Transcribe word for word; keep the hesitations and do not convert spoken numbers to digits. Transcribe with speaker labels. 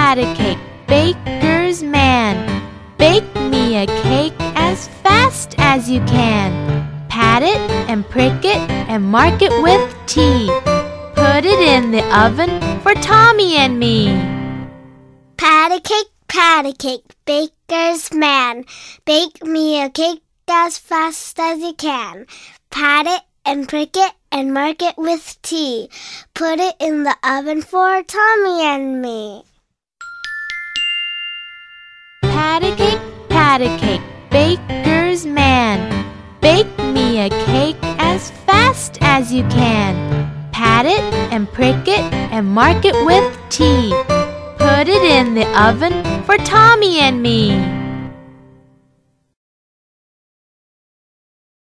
Speaker 1: pat-a-cake, baker's man. Bake me a cake as fast as you can. Pat it and prick it and mark it with T. Put it in the oven for Tommy and me.
Speaker 2: Pat-a-cake, pat-a-cake, baker's man. Bake me a cake as fast as you can. Pat it and prick it and mark it with T. Put it in the oven for Tommy and me.
Speaker 1: Pat-a-cake, pat-a-cake, baker's man. Bake me a cake as fast as you can. Pat it and prick it and mark it with T. Put it in the oven for Tommy and me.